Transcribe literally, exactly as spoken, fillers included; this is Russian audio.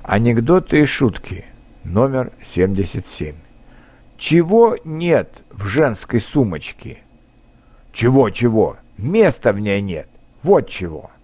Анекдоты и шутки. Номер семьдесят семь. Чего нет в женской сумочке? Чего-чего? Места в ней нет. Вот чего.